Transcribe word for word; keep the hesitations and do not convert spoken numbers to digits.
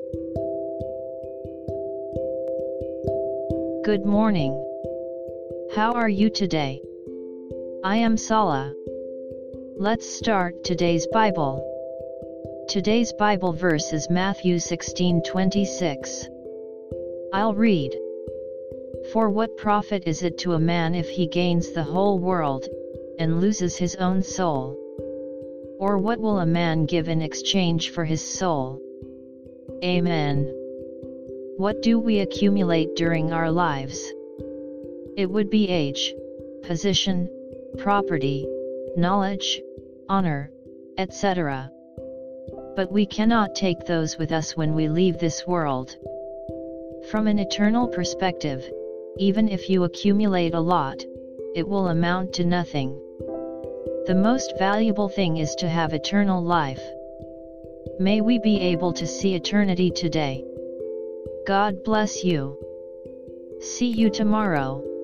Good morning. How are you today? I am Sala. Let's start today's Bible. Today's Bible verse is Matthew sixteen twenty-six. I'll read. For what profit is it to a man if he gains the whole world, and loses his own soul? Or what will a man give in exchange for his soul? Amen. What do we accumulate during our lives? It would be age, position, property, knowledge, honor, et cetera. But we cannot take those with us when we leave this world. From an eternal perspective, even if you accumulate a lot, it will amount to nothing. The most valuable thing is to have eternal life. May we be able to see eternity today. God bless you. See you tomorrow.